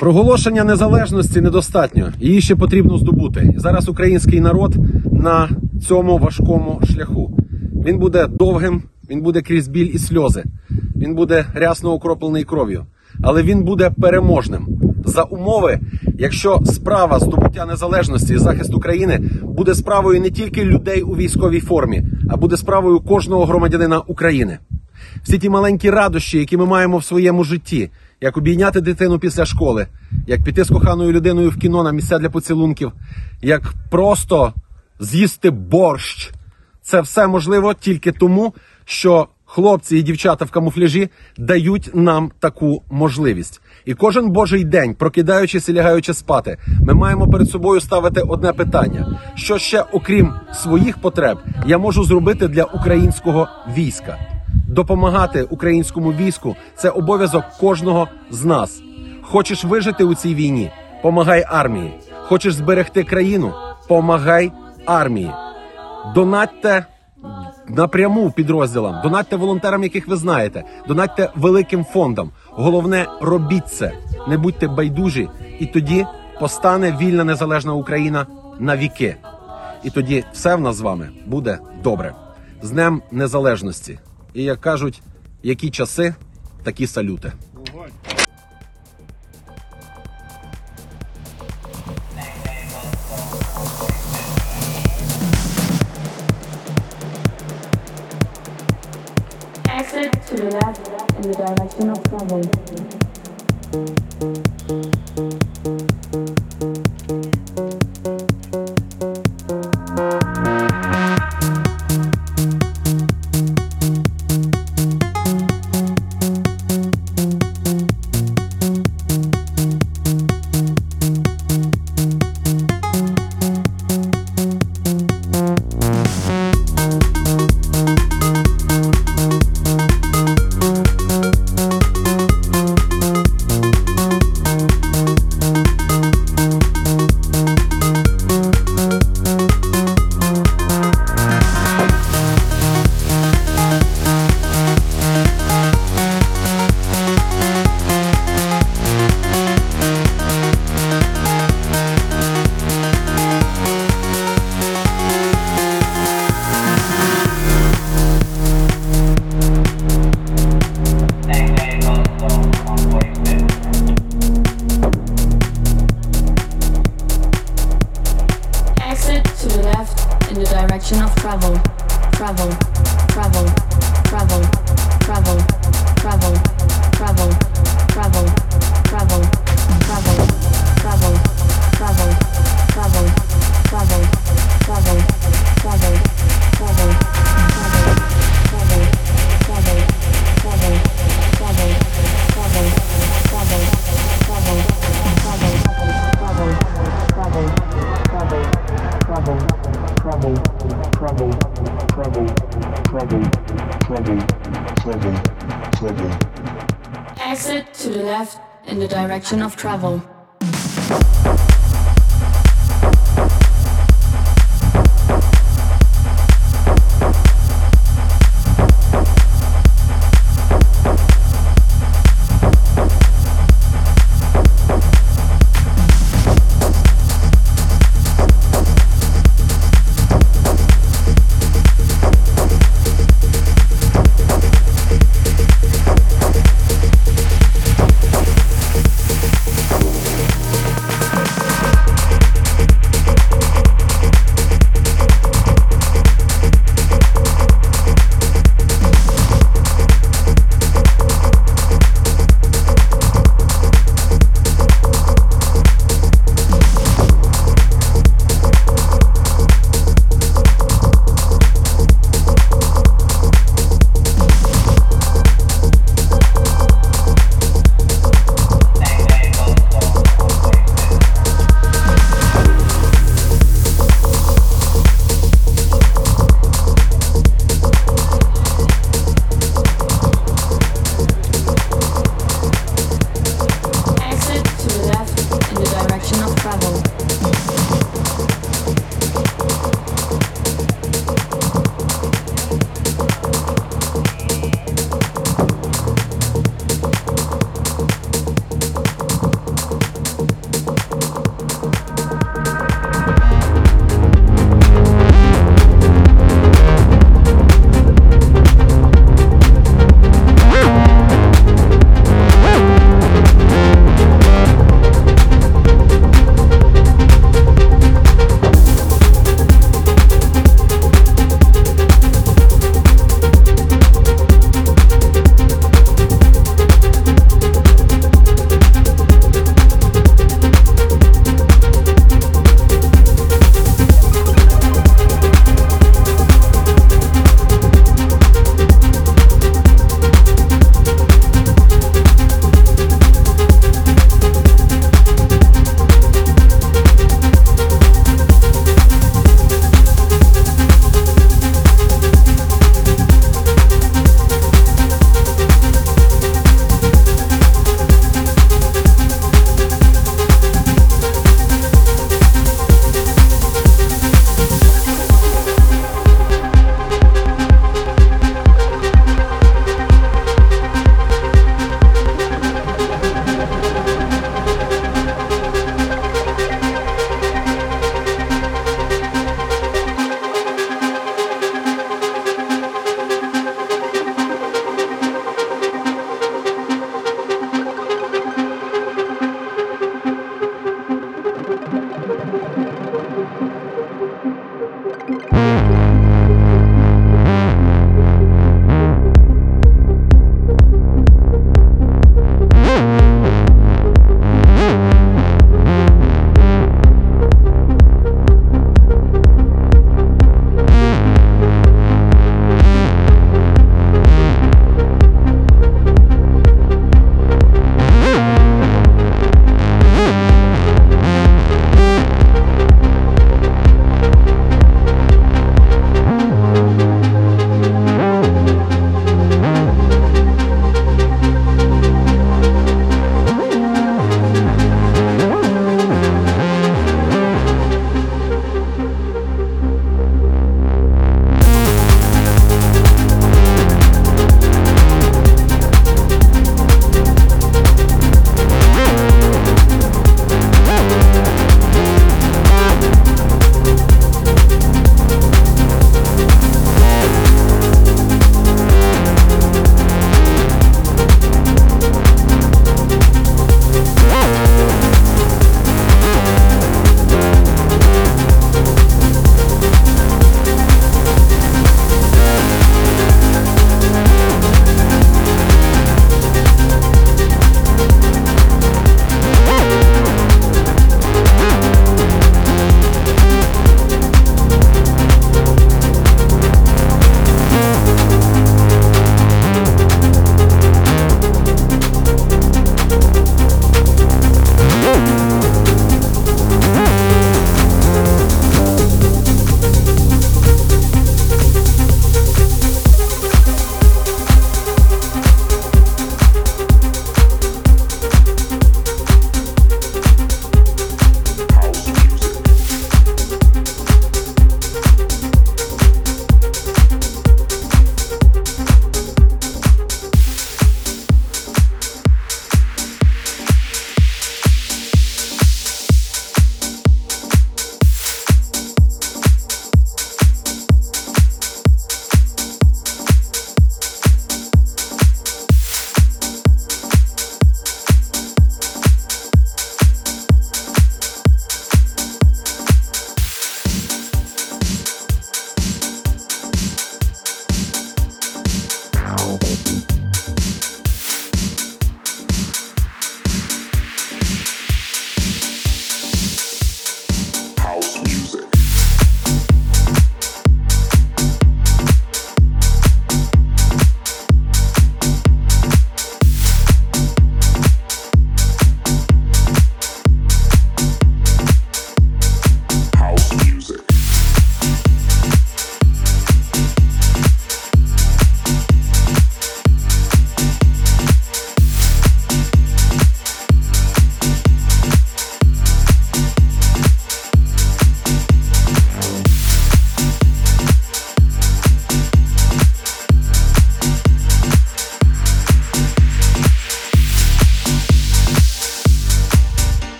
Проголошення незалежності недостатньо, її ще потрібно здобути. І зараз український народ на цьому важкому шляху. Він буде довгим, він буде крізь біль і сльози, він буде рясно окроплений кров'ю, але він буде переможним. За умови, якщо справа здобуття незалежності і захист України буде справою не тільки людей у військовій формі, а буде справою кожного громадянина України. Всі ті маленькі радощі, які ми маємо в своєму житті, як обійняти дитину після школи, як піти з коханою людиною в кіно на місця для поцілунків, як просто з'їсти борщ. Це все можливо тільки тому, що хлопці і дівчата в камуфляжі дають нам таку можливість. І кожен божий день, прокидаючись і лягаючи спати, ми маємо перед собою ставити одне питання. Що ще, окрім своїх потреб, я можу зробити для українського війська? Допомагати українському війську – це обов'язок кожного з нас. Хочеш вижити у цій війні – помагай армії. Хочеш зберегти країну – помагай армії. Донатьте напряму підрозділам, донатьте волонтерам, яких ви знаєте, донатьте великим фондам. Головне – робіть це, не будьте байдужі, і тоді постане вільна незалежна Україна на віки. І тоді все в нас з вами буде добре. З Днем Незалежності. І, як кажуть, які часи, такі салюти. Exit to the left in the direction of travel. In the direction of travel, travel, travel, travel, travel, travel, travel, travel, travel, travel, travel, travel, travel, travel, travel, travel, travel, Exit to the left in the direction of travel.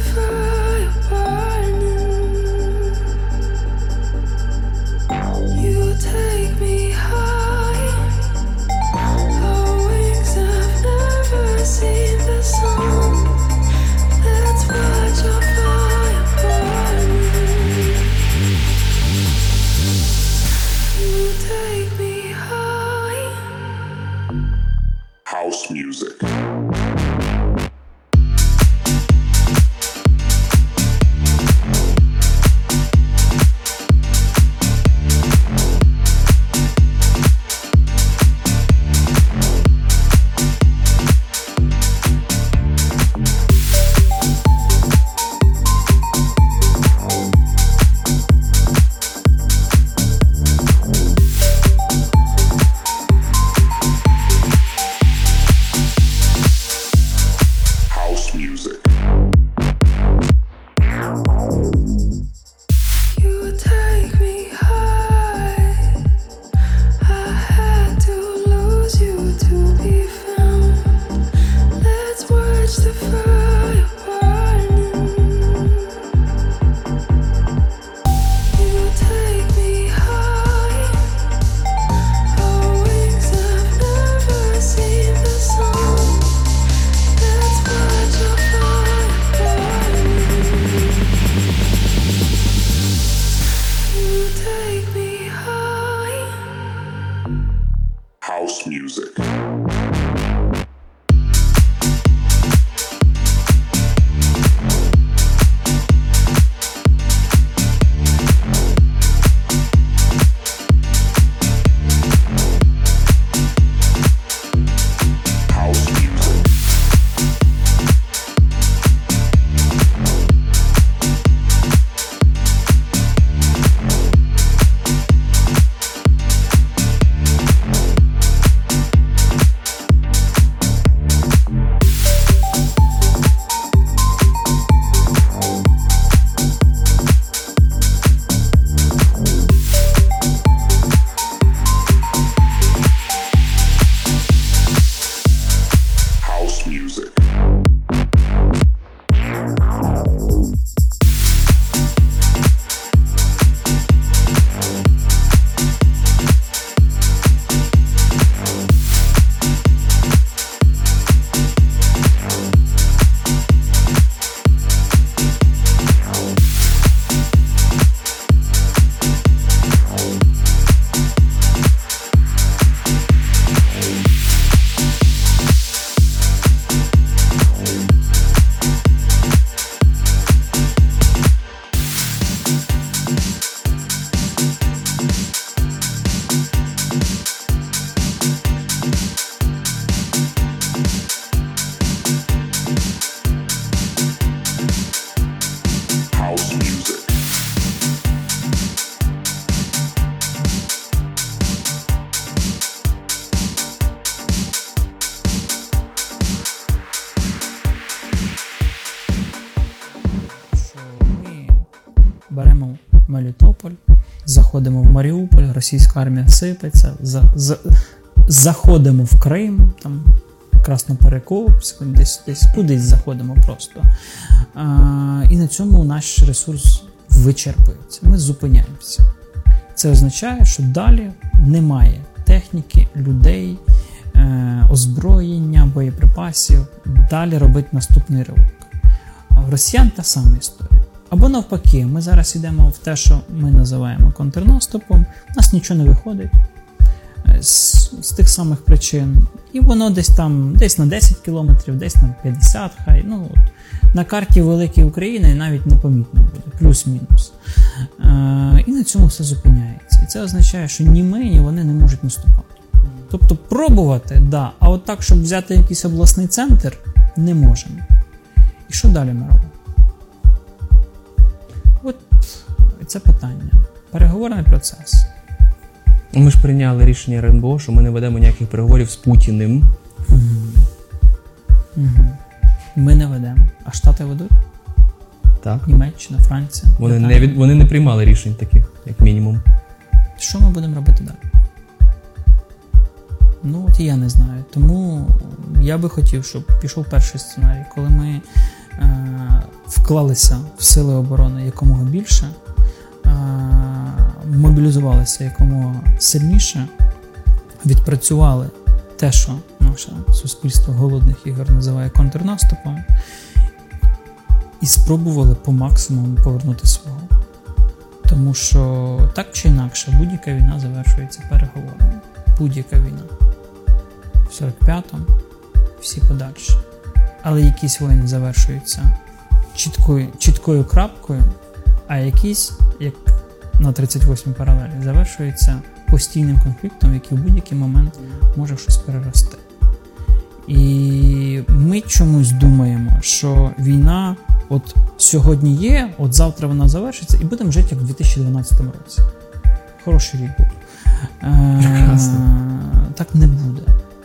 fire burning. You take me high. Our wings have never seen the sun. Let's watch our fire burning. You take me high. House music. House music. You take me high. I had to lose you to be found. Let's watch the fire burning. You take me high. Our wings have never seen the sun. Let's watch our fire burning. You take me high. House music. House music. House music. House music. Що ми беремо Мелітополь, заходимо в Маріуполь, російська армія сипеться, заходимо в Крим, там Красноперекопськ, десь кудись заходимо просто. І на цьому наш ресурс вичерпується. Ми зупиняємося. Це означає, що далі немає техніки, людей, озброєння, боєприпасів. Далі робить наступний ривок. А в росіян та сама історія. Або навпаки, ми зараз йдемо в те, що ми називаємо контрнаступом, у нас нічого не виходить з тих самих причин. І воно десь на 10 кілометрів, десь на 50, хай. На карті великої України навіть непомітно буде, плюс-мінус. І на цьому все зупиняється. І це означає, що ні ми, ні вони не можуть наступати. Тобто пробувати, да, а от так, щоб взяти якийсь обласний центр, не можемо. І що далі ми робимо? От це питання. Переговорний процес. Ми ж прийняли рішення РНБО, що ми не ведемо ніяких переговорів з Путіним. Ми не ведемо. А Штати ведуть? Так. Німеччина, Франція. Вони не приймали рішень таких, як мінімум. Що ми будемо робити далі? От я не знаю. Тому я би хотів, щоб пішов перший сценарій, коли ми вклалися в сили оборони якомога більше, мобілізувалися якомога сильніше, відпрацювали те, що наше суспільство голодних ігор називає контрнаступом, і спробували по максимуму повернути свого. Тому що так чи інакше будь-яка війна завершується переговорами. Будь-яка війна. В 45-му, всі подальші. Але якісь війни завершуються чіткою крапкою, а якісь, як на 38-й паралелі, завершуються постійним конфліктом, який в будь-який момент може щось перерости. І ми чомусь думаємо, що війна от сьогодні є, от завтра вона завершиться, і будемо жити як в 2012 році. Хороший рік був. Так не буде.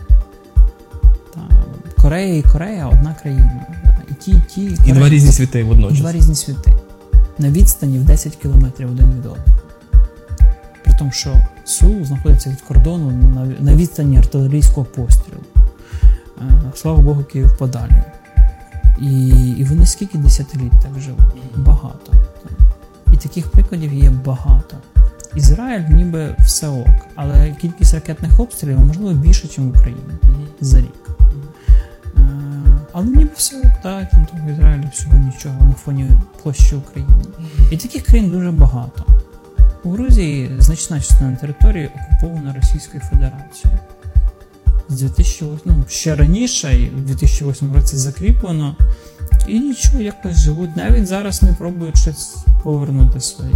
Корея і Корея – одна країна. І два різні світи водночас. Два різні світи. На відстані в 10 кілометрів один від одного. При тому, що Сеул знаходиться від кордону на відстані артилерійського пострілу. Слава Богу, Київ подалі. І вони скільки десятиліть так живуть? Багато. І таких прикладів є багато. Ізраїль ніби все ок, але кількість ракетних обстрілів можливо більше, ніж в Україні за рік. Але ніби все ок, так, там в Ізраїлі всього нічого на фоні площі України. І таких країн дуже багато. У Грузії значна частина території окупована Російською Федерацією. З 2008, ще раніше, і в 2008 році закріплено, і нічого, якось живуть. Навіть зараз не пробують щось повернути своє.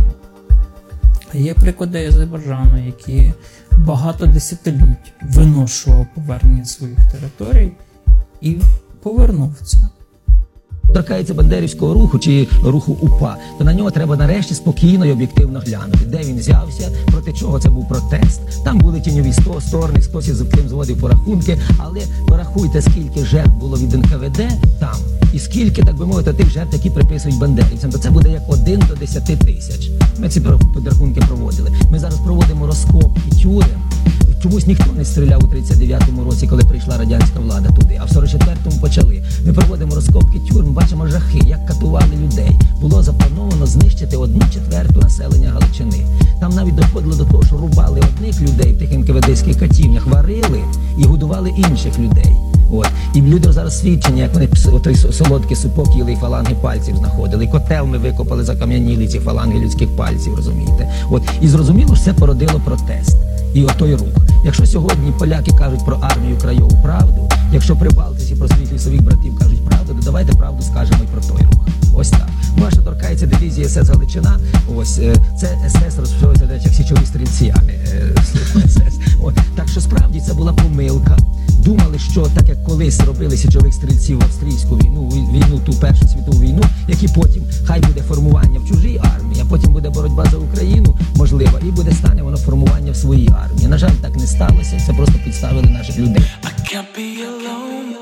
Є приклади Азербайджану, які багато десятиліть виношував повернення своїх територій і повернув це. Торкається бандерівського руху чи руху УПА, то на нього треба нарешті спокійно і об'єктивно глянути, де він взявся, проти чого це був протест. Там були тіньові сторони, хтось із ким зводив порахунки, але порахуйте, скільки жертв було від НКВД там, і скільки, так би мовити, тих жертв, які приписують бандерівцям, то це буде як 1 до 10 тисяч. Ми ці підрахунки проводили. Ми зараз проводимо розкопки тюрем. Чомусь ніхто не стріляв у 39-му році, коли прийшла радянська влада туди, а в 44-му почали. Ми проводимо розкопки тюрем, бачимо жахи, як катували людей. Було заплановано знищити 1/4 населення Галичини. Там навіть доходило до того, що рубали одних людей в тих НКВДських катівнях, варили і годували інших людей. От. І люди зараз свідчені, як вони той солодкий супок їли і фаланги пальців знаходили. І котел ми викопали, закам'яніли ці фаланги людських пальців, розумієте? От. І зрозуміло, що це породило протест. І отой рух. Якщо сьогодні поляки кажуть про армію краєву правду, якщо прибалтиці про своїх лісових братів кажуть правду, то давайте правду скажемо і про той рух. Ось так. Ну, а що торкається дивізії СС Галичина, ось це СС розпочалося, до речі, як січові стрільці, а не служба СС. От. Так що справді це була помилка. Думали, що так як колись робили січових стрільців в австрійську війну, ту Першу світову війну, які потім хай буде формування в чужій армії, а потім буде боротьба за Україну, можливо, і буде стане воно формування в своїй армії. На жаль, так не сталося, це просто підставили наших людей. I can't be alone.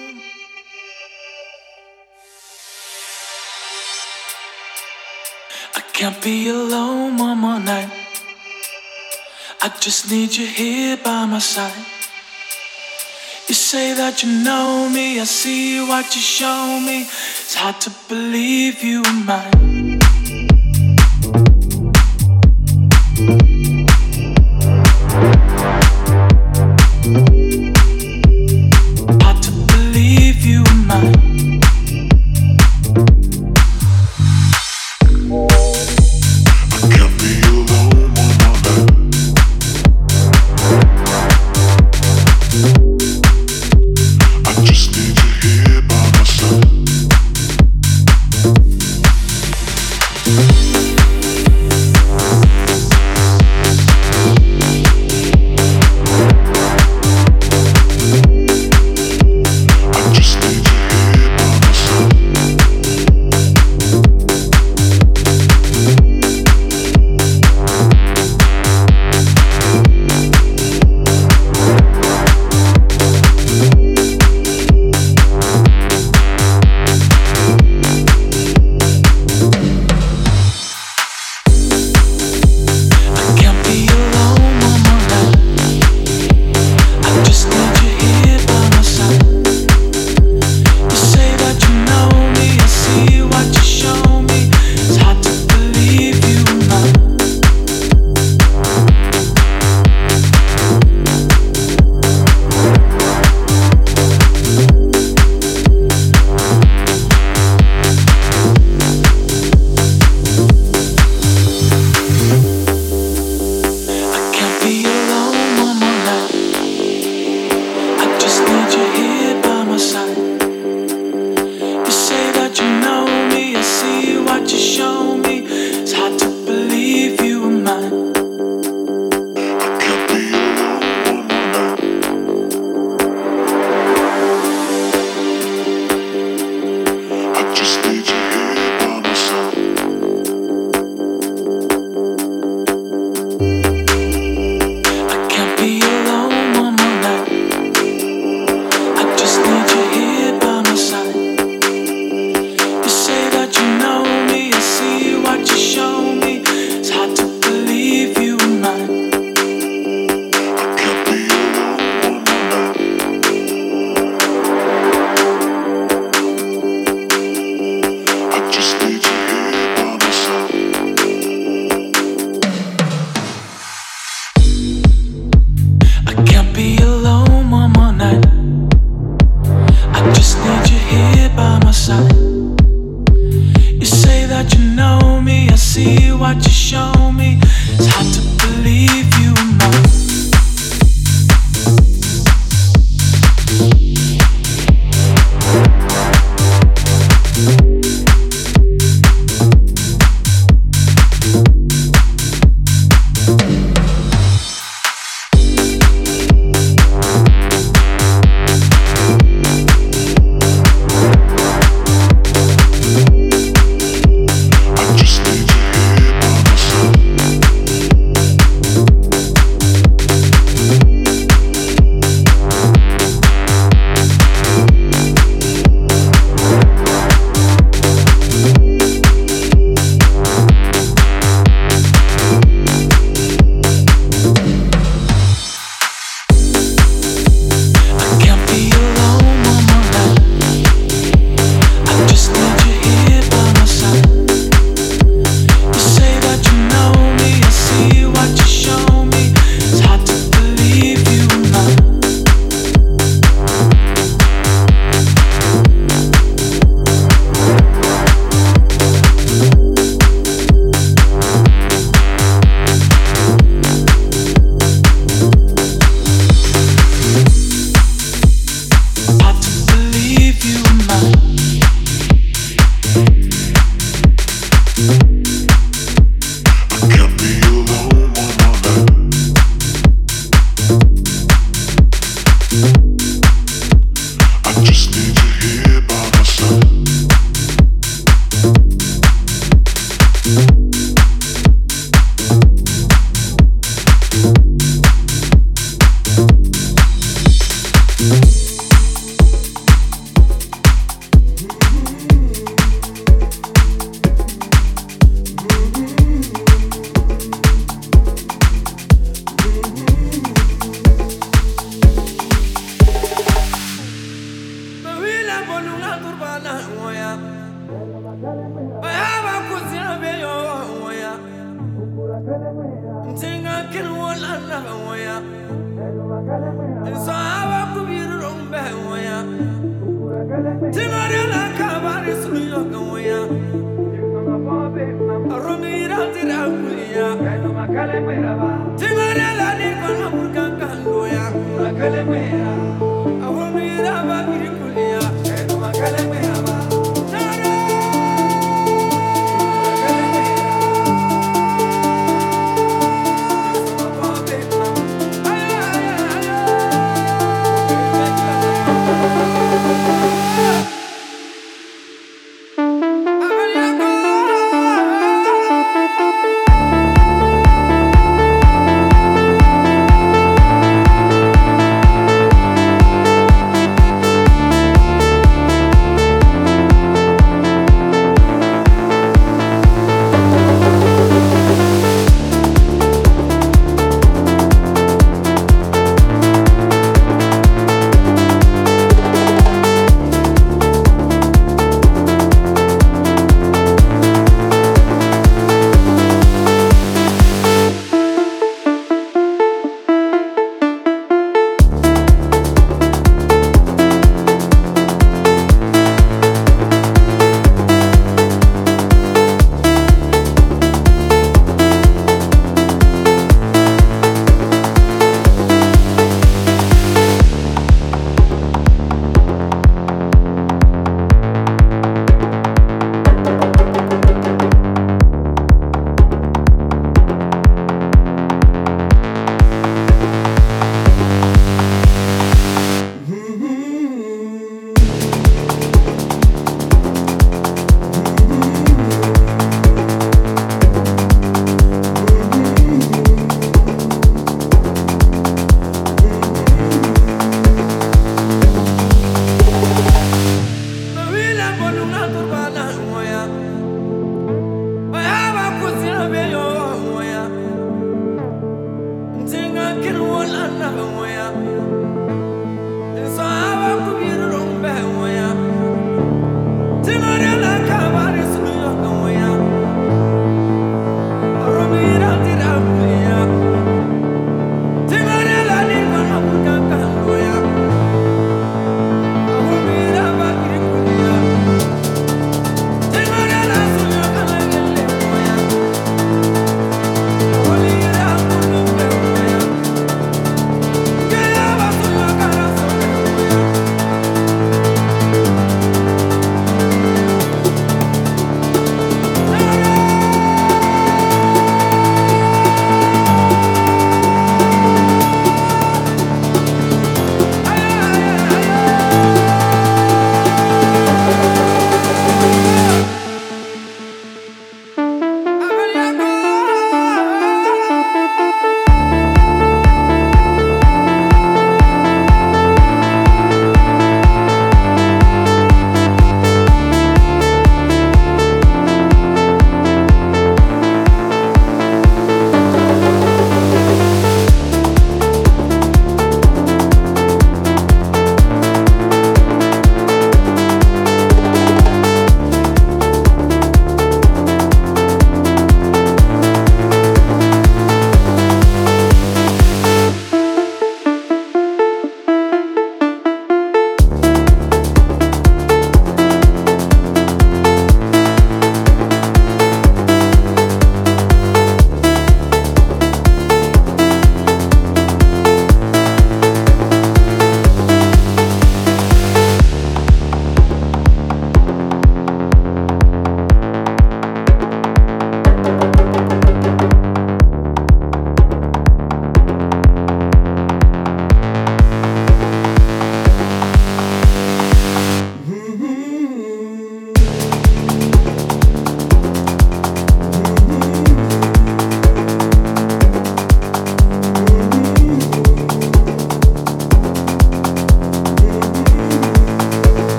I can't be alone one more night. I just need you here by my side. You say that you know me, I see what you show me. It's hard to believe you were mine. Hard to believe you were mine. I can't be alone one more night. I just need you here by my side. see what you show me. It's hard to believe you were mine.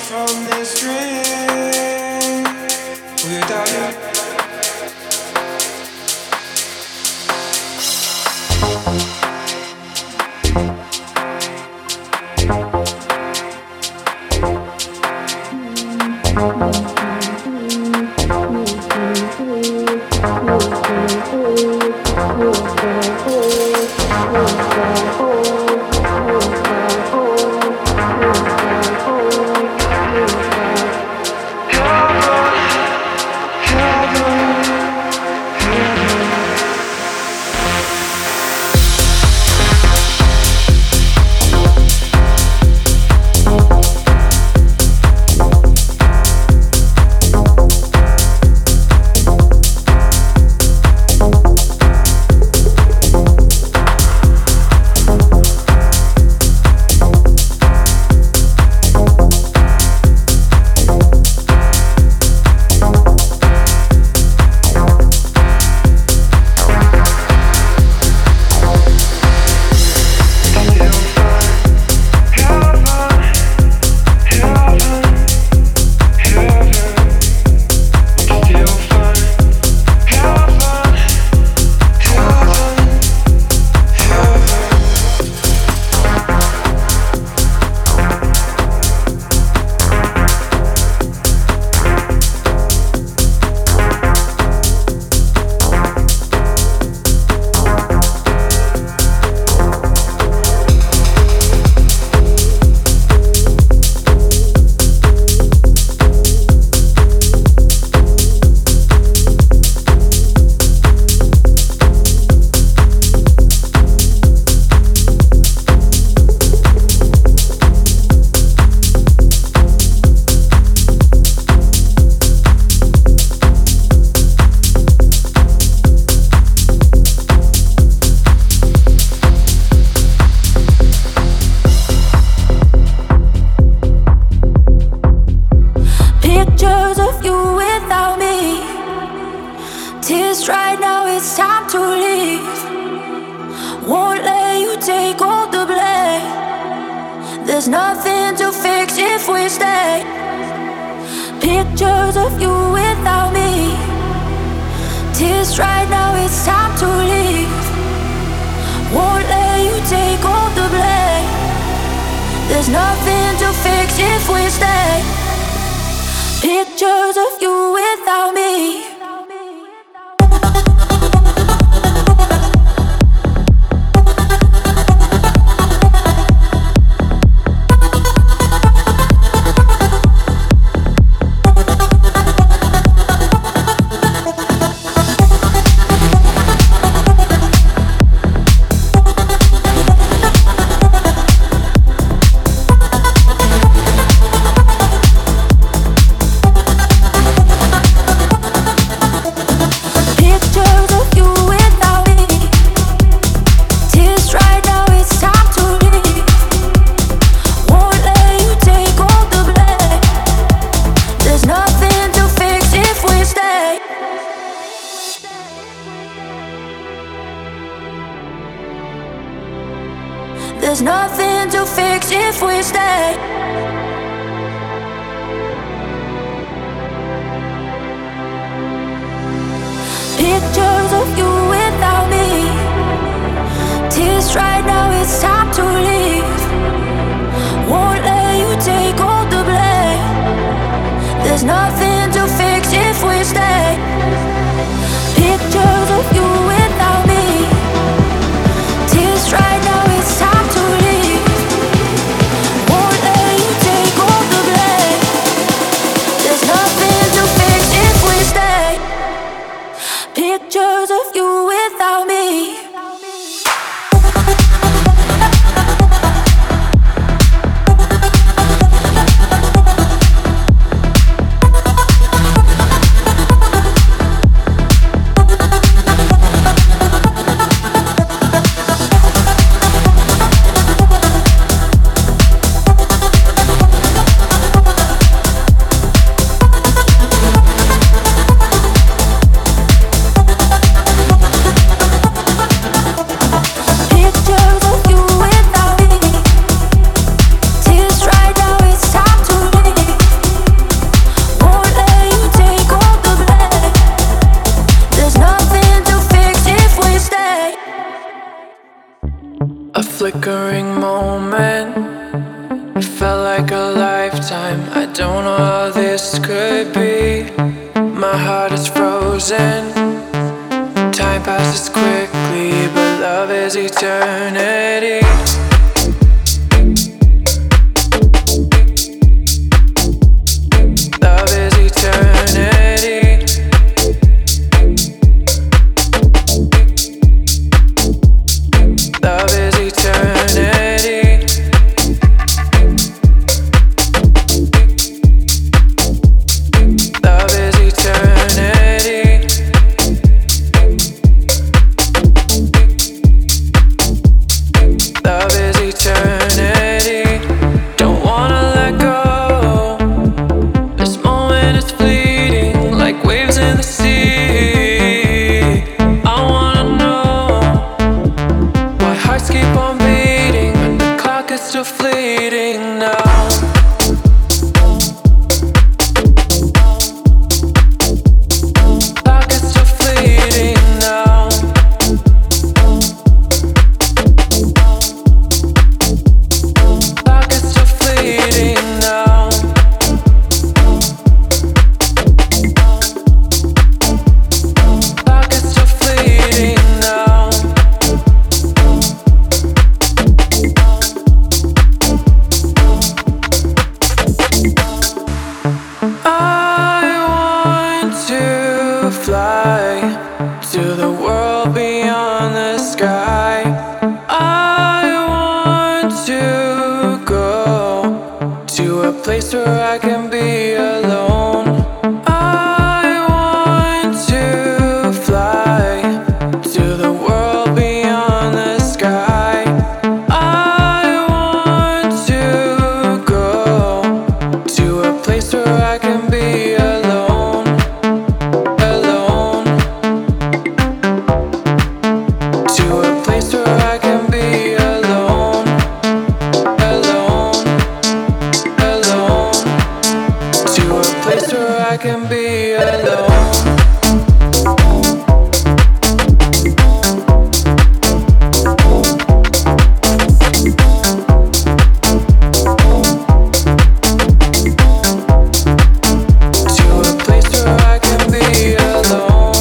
from this dream without you. Pictures of you without me. Tears right now, it's time to leave. Won't let you take all the blame. There's nothing to fix if we stay. Pictures of you without me. Tears right now, it's time to leave. Won't let you take all the blame. There's nothing to fix if we stay. Pictures of you without me. There's nothing to fix if we stay. Pictures of you without me. Tears right now, it's time to leave. Won't let you take all the blame. There's nothing to fix if we stay. Pictures of you without me. Tears right now, it's time to leave. Won't let you take all the blame. There's nothing to fix if we stay. Pictures of you without me. moment. It felt like a lifetime. I don't know how this could be. My heart is frozen. Time passes quickly, but love is eternity. Love is eternity. Love is eternity. Love is eternity. Love is eternity. Don't wanna let go. This moment is fleeting, like waves in the sea. I wanna know why hearts keep on beating when the clock is still fleeting now. Clock is still fleeting now. Clock is still fleeting now. Clock is still fleeting now. I want to fly to the world beyond the sky. I want to go to a place where I can be alone. I want to fly to the world beyond the sky. I want to go to a place where I can be alone. Alone. To a place where I can be alone. Alone. Alone. To a place where I can be alone. To a place where I can be alone.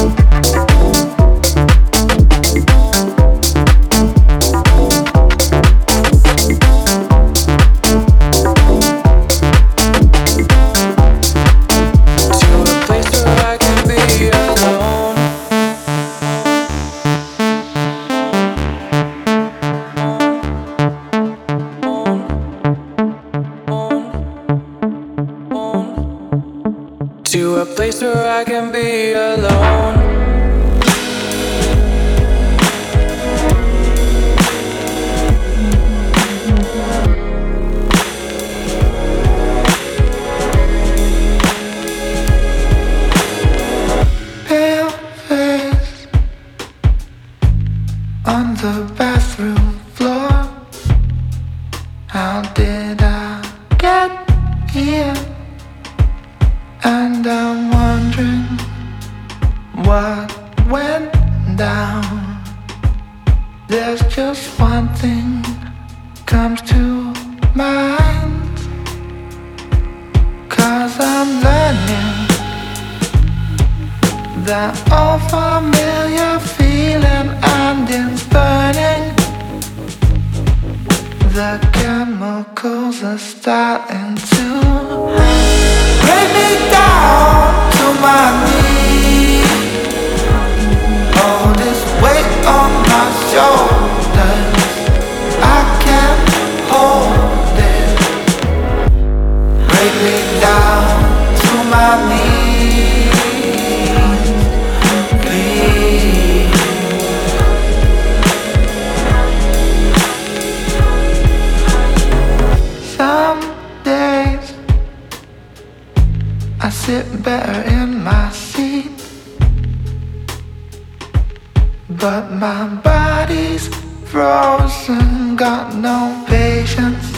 To a place where I can be alone. To a place where I can be alone. Pale face on the bathroom floor. How did I get here? And I'm wondering what went down. There's just one thing comes to mind. 'Cause I'm learning that old familiar feeling, and it's burning. The chemicals are starting to bring me down to my knees. All this weight on my shoulders, I can't hold it. Break me down to my knees, please. Some days I sit better in my seat, but my body's frozen, got no patience.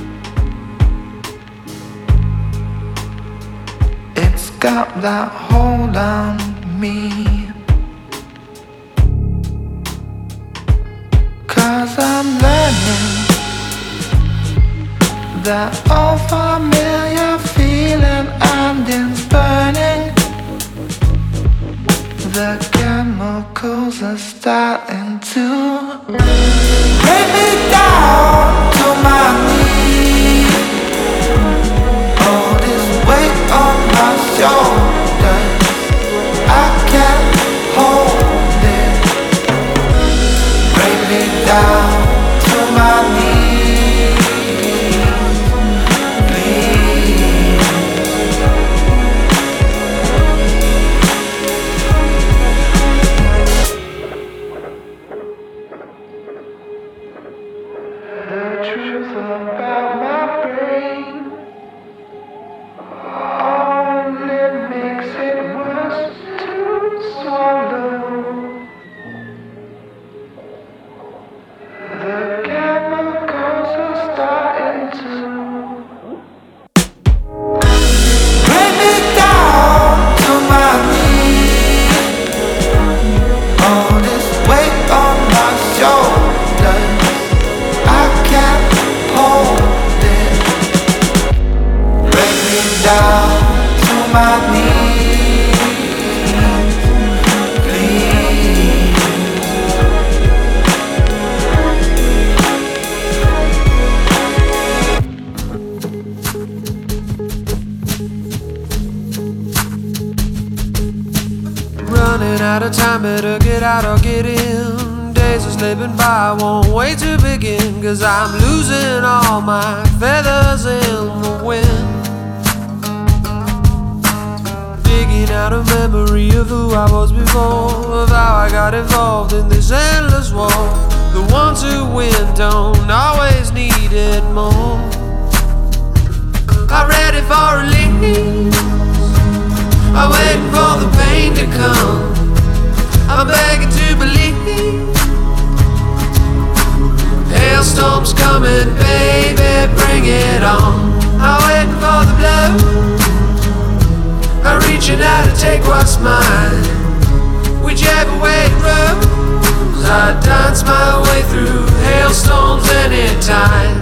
It's got that hold on me. 'Cause 'cause I'm learning that old familiar feeling and it's burning. The chemicals are starting to break me down to my knees. All this weight on my shoulders, I can't hold it. Break me down to my knees, please. The truth about my brain only makes it worse to swallow. The chemicals are starting to bring me down to my knees. All this weight on my shoulders, I can't hold it. Bring me down to my knees, please. Running out of time, better get out or get in. Days are slipping by, won't wait to begin, 'cause I'm losing all my feathers in the wind. Digging out a memory of who I was before, of how I got involved in this endless war. The ones who win don't always need it more. I'm ready for release, I'm waiting for the pain to come. I'm begging to believe. Hailstorms coming, baby, bring it on. I'm waiting for the blow, I'm reaching out to take what's mine. Whichever way it rolls, I dance my way through hailstorms anytime.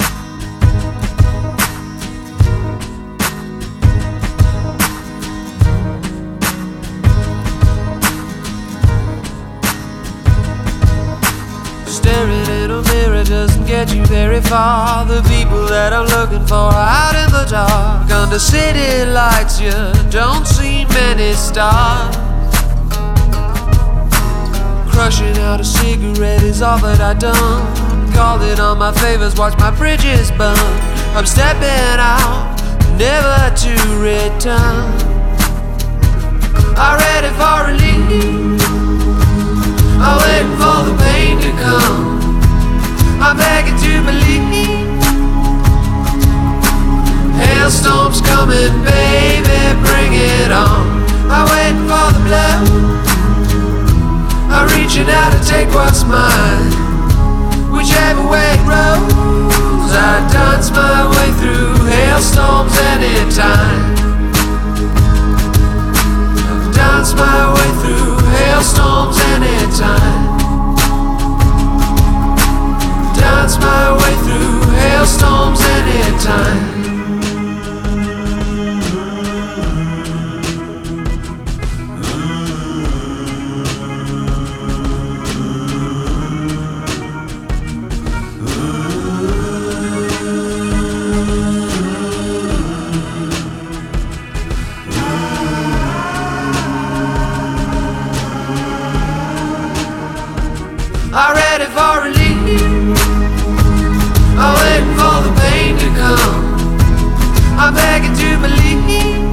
Staring in a mirror doesn't get you very far. The people that I'm looking for are out in the dark. Under city lights you don't see many stars. Crushing out a cigarette is all that I done. Called it on my favors, watch my bridges burn. I'm stepping out, never to return. I'm ready for relief, I'm waiting for the pain to come. I'm begging to believe. Hailstorms coming, baby, bring it on. I'm waiting for the blow, I'm reaching out to take what's mine. Whichever way it rolls, I dance my way through hailstorms anytime. Dance my way through hailstorms anytime. Dance my way through hailstorms anytime. I'm ready for relief, I'm waiting for the pain to come. I'm begging to believe.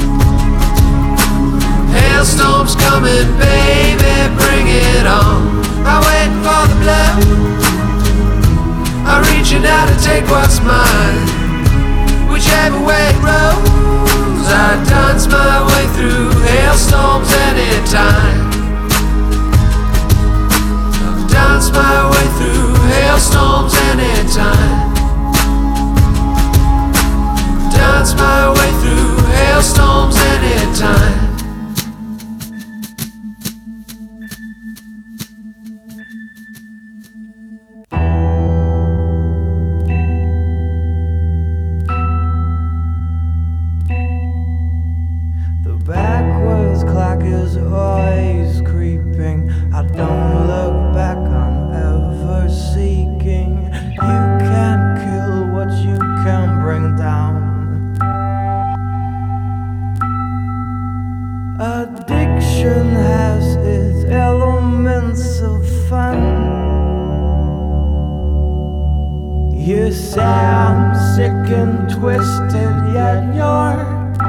Hailstorms coming, baby, bring it on. I'm waiting for the blow, I'm reaching out to take what's mine. Whichever way it rolls, I dance my way through hailstorms anytime. Dance my way through hailstorms anytime. Dance my way through hailstorms anytime. You say I'm sick and twisted, yet you're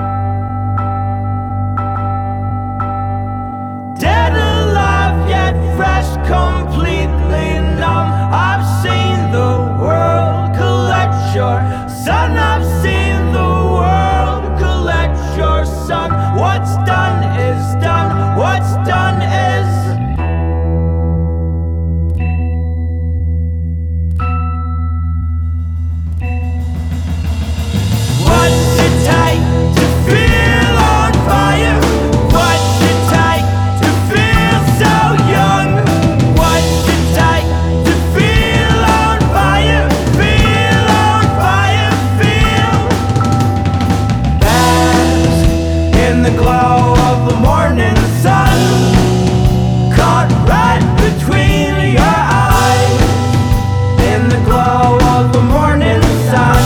dead alive, yet fresh, completely numb. I've seen the world collect your son. I've seen the world collect your son. What's done is done. What's done is what's it take to feel on fire? What's it take to feel so young? What's it take to feel on fire? Feel on fire, feel. Bask in the glow of the morning sun, caught right between your eyes. In the glow of the morning sun.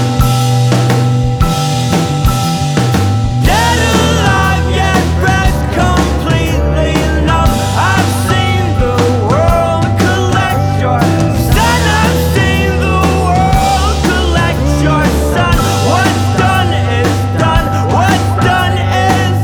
Dead alive, yet rest completely numb. I've seen the world collect your son. I've seen the world collect your son. What's done is done. What's done is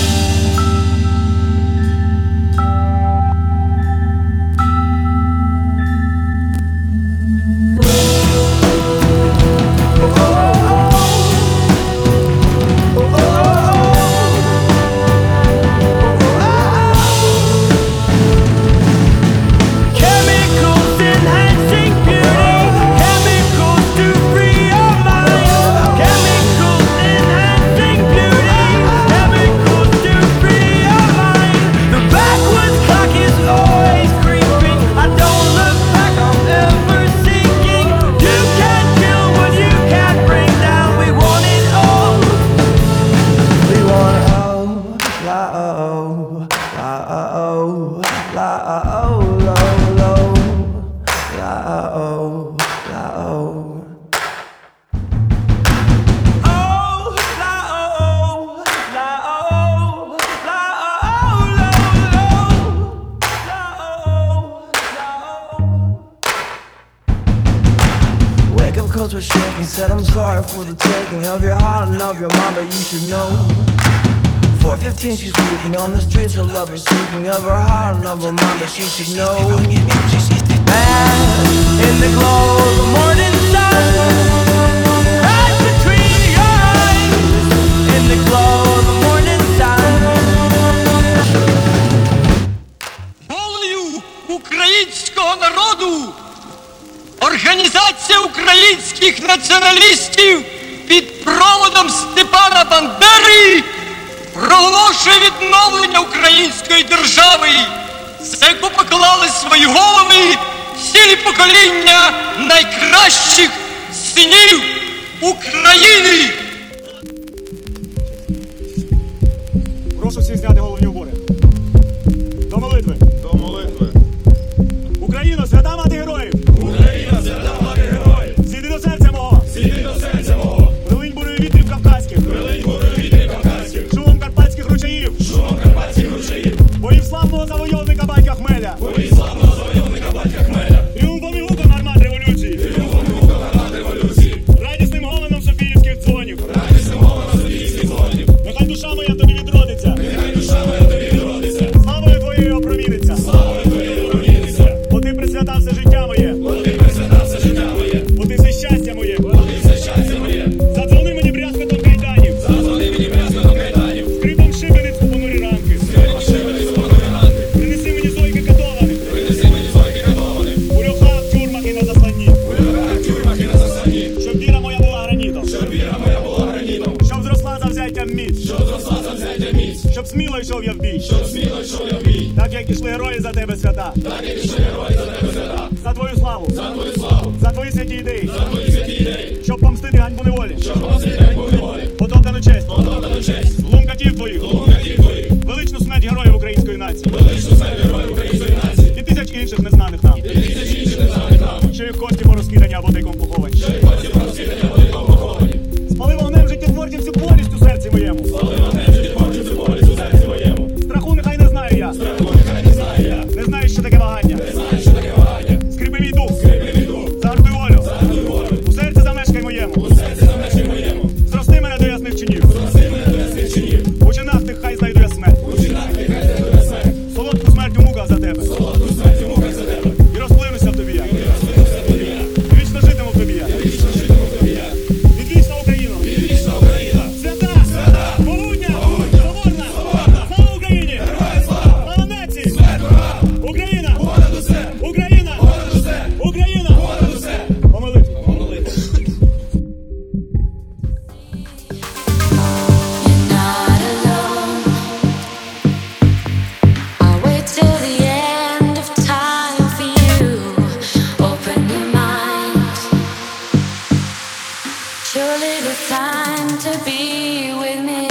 chemicals enhancing beauty, chemicals to free your mind. Chemicals enhancing beauty, chemicals to free your mind. The backwards clock is always creeping. I don't look back, I'm ever seeking. You can't kill what you can't bring down. We want it all. We want oh, la oh, la oh, la oh, lo lo, la oh, la oh. Oh, la oh, la oh, la oh, lo lo, la oh, la oh. Wake up 'cause we're shaking. Said I'm sorry for the taking of your heart and of your mind, but you should know. 4:15, she's weeping on the streets. Her lover speaking of her heart and of her mind, but she should know. Bask in the glow of the morning sun, right between your eyes. In the glow of the morning sun. Волею українського народу Організація українських націоналістів під проводом Степана Бандери проголошує відновлення української держави, за яку поклали свої голови цілі покоління найкращих синів України. Прошу всіх зняти головні убори. До молитви. До молитви. Україно, свята мати героїв! Україна, свята мати героїв! Сіди до серця мого! Сіди до серця мого! Прилинь бурою вітрів кавказьких! Прилинь бурою вітрів кавказьких! Шумом карпатських ручаїв! Шумом карпатських ручаїв! Боїв славного завойовника батька Хмеля! Боїв славного завойовника батька Хмеля! Тріумфом і гуком гармат революції! Тріумфом і гуком гармат революції! Радісним голеном софіївських дзвонів! Радісним голеном софіївських дзвонів! Нехай душа моя тобі відродиться! Нехай душа моя тобі відродиться! Славою твоєю опроміниться! Славою твоєю опроміниться! Бо ти присвятав все життя моє! Бо ти присвятав все життя моє! Бо ти все щастя моє! Бо ти все щастя моє! Задзвони мені брязкотом кайданів! Задзвони мені брязкотом кайданів! Скрипом шибениць у понурі ранки! Скрипом шибениць у понурі ранки! Принеси мені зойки катованих! Принеси мені зойки катованих! У льохах, тюрмах і на засланні! У льохах, тюрмах і на засланні! Щоб віра моя була гранітом! Щоб віра моя була гранітом! Щоб зросла завзяттям міць! Щоб зросла завзяттям міць! Щоб сміло йшов я в бій! Щоб сміло йшов я в бій! Так як ішли герої за тебе, свята! Так як ішли герої за тебе, свята! За твою славу! За твою славу! За твої святі ідеї! За твої святі ідеї! Щоб помстити ганьбу неволі! Щоб помстити ганьбу неволі! Потоптану честь! Потоптану честь! Лун катів твоїх! Лун катів твоїх! Величну смерть героїв української нації! Величну смерть героїв української нації! І тисяч інших незнаних нам! І тисяч інших незнаних нам! Що їх кості порозкидані або тайком поховані! Що їх кості порозкидані або тайком поховані! Спали вогнем життєтворців всю болість у серці моєму! Спали вогнем життєтворців всю болість у серці моєму! Страху нехай не знаю я! Страху нехай не знаю я! Не знаю, що таке вагання! Не знаю, що таке вагання! Скріпи мій дух! Скріпи мій дух! Загартуй волю! Загартуй волю! a little time to be with me.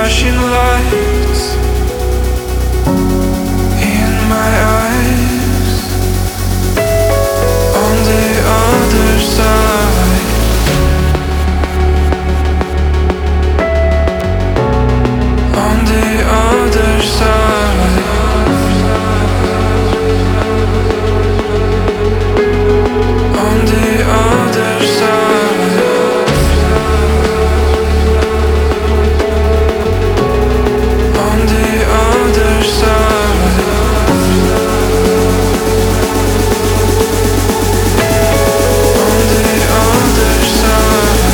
flashing lights in my eyes. On the other side, on the other side, on the other side, on the other side, on the other side.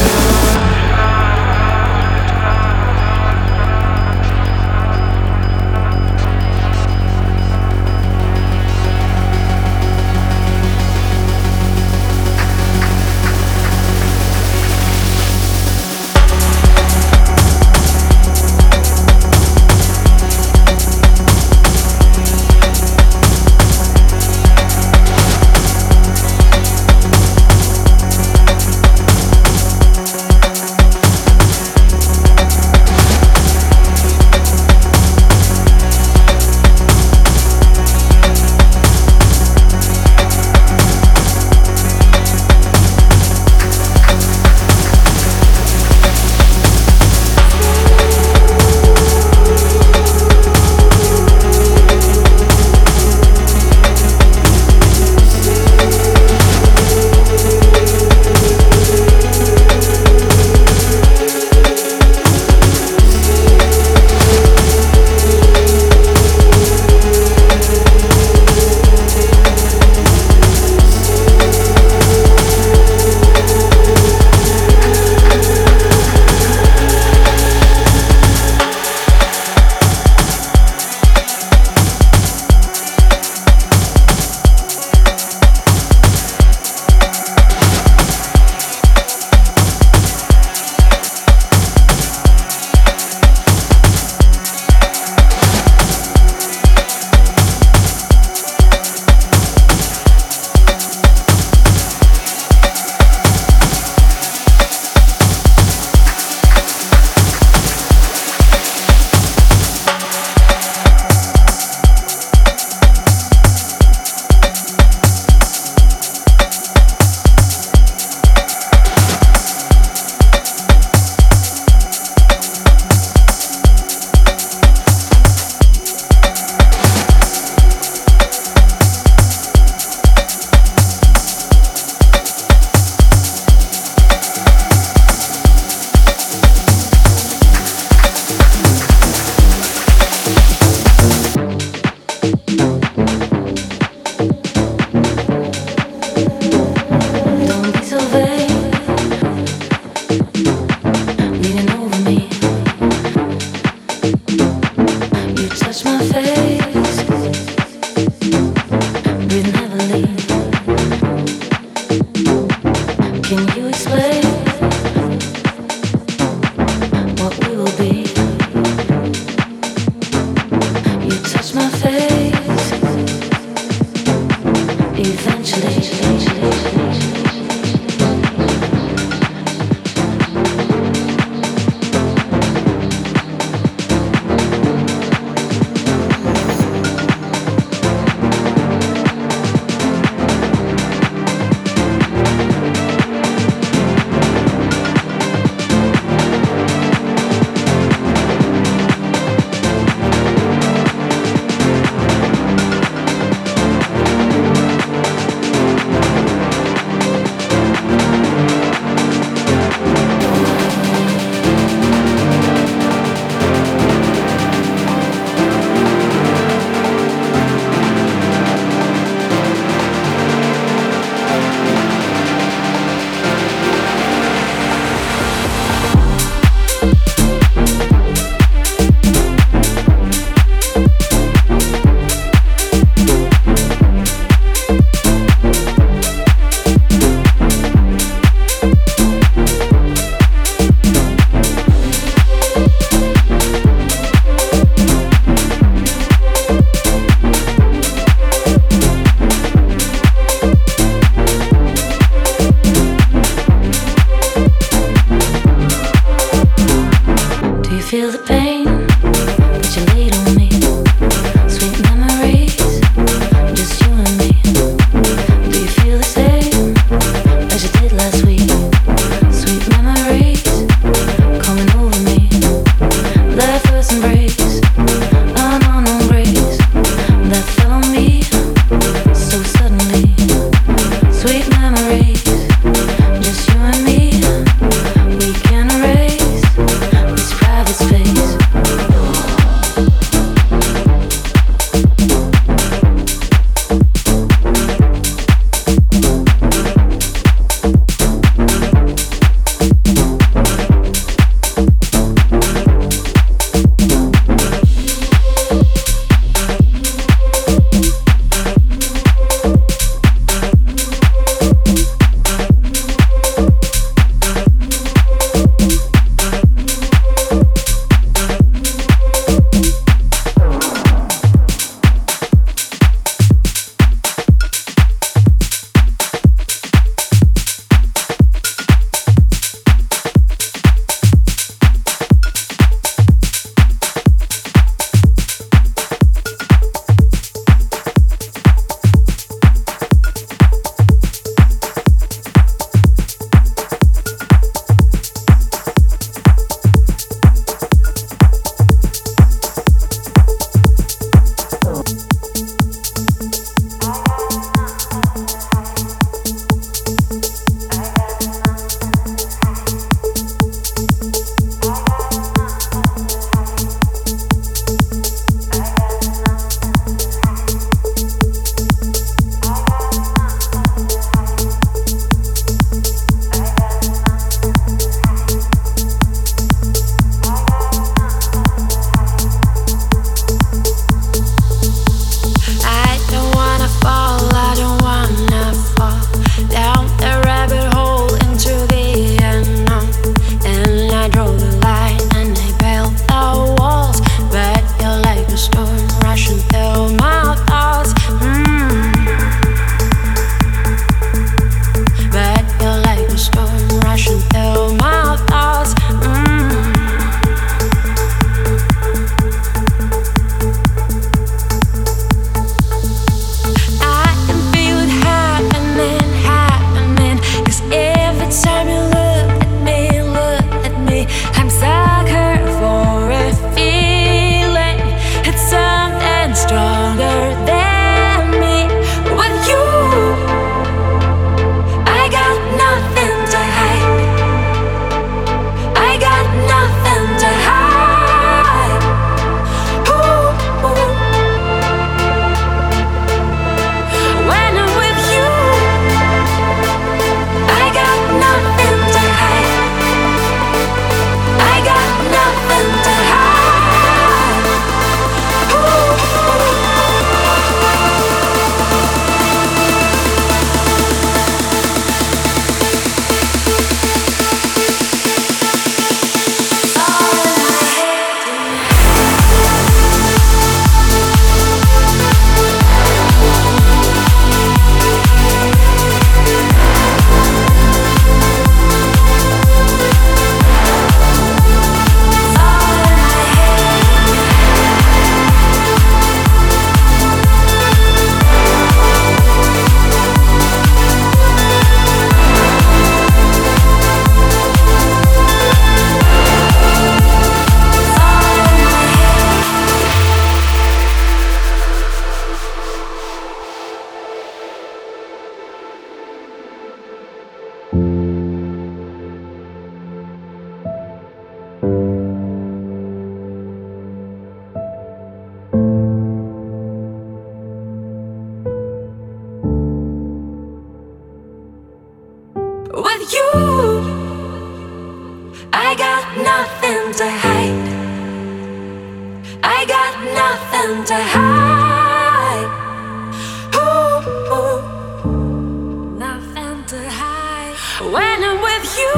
feel the pain With you, I got nothing to hide. I got nothing to hide. Ooh, ooh, nothing to hide. When I'm with you,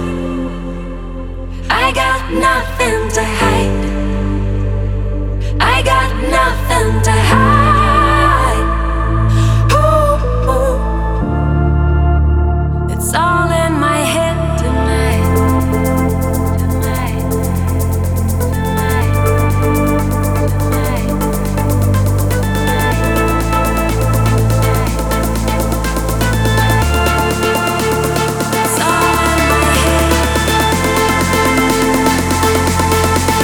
I got nothing to hide. I got nothing to hide. Ooh, ooh. It's all in my head tonight. Tonight. Tonight. Tonight. It's all in my head.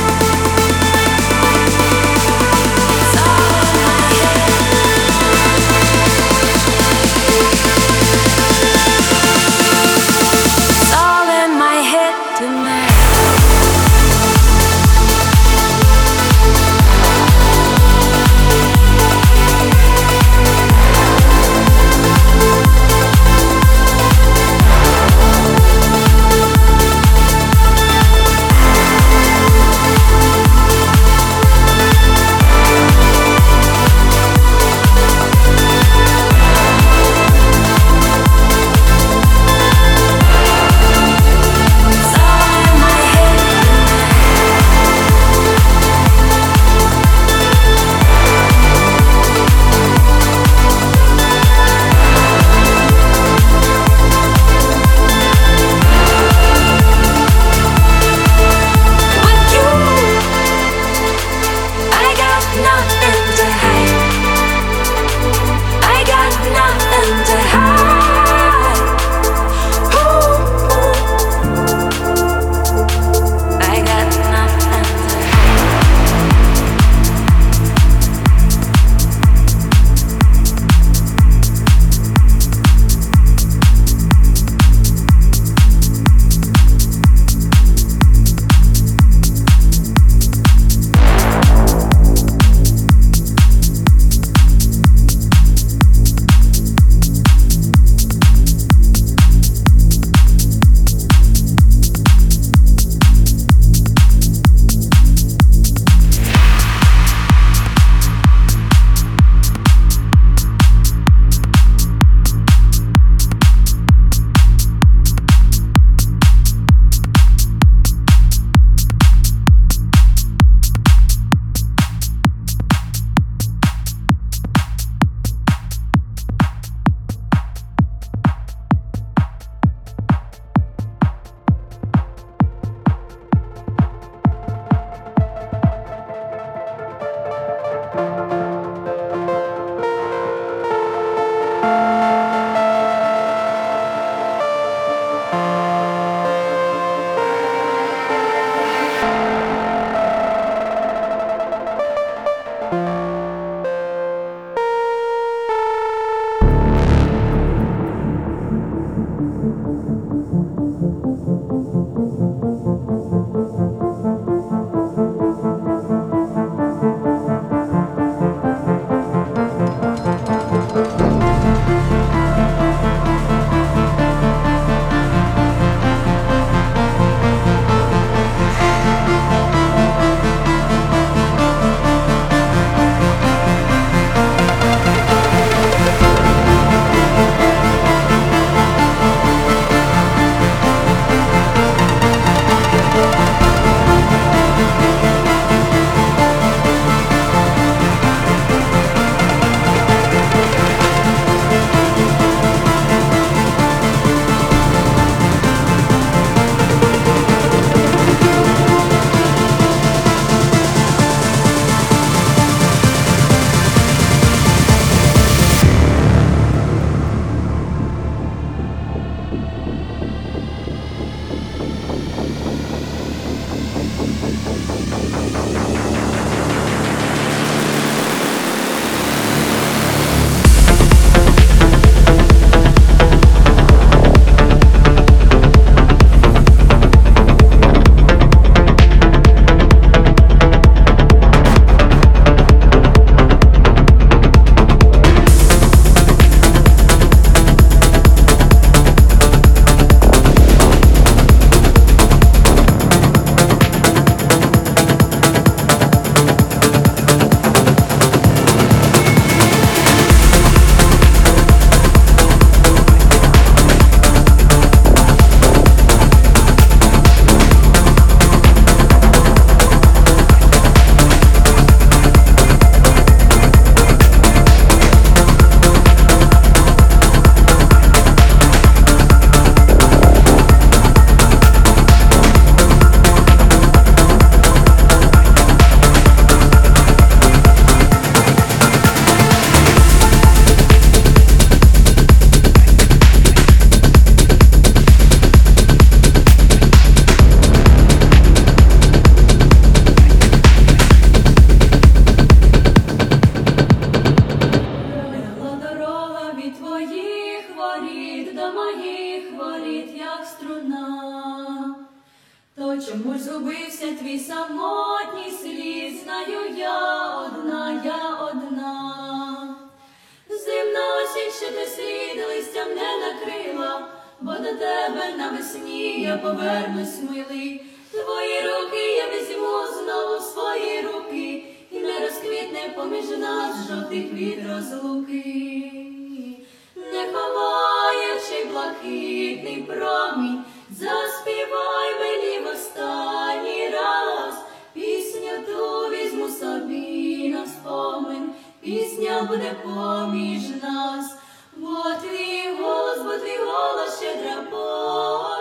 чому ж згубився твій самотній слід? Знаю я одна. Зимна осінь, що ти слід листям не накрила, бо до тебе навесні я повернусь, милий. Твої руки я візьму знову в свої руки, і не розквітне поміж нас жовтий квіт розлуки. Не ховаючи блакитний промінь, заспівай мені в останній раз. Пісню ту візьму собі на спомин, пісня буде поміж нас. Бо твій голос щедра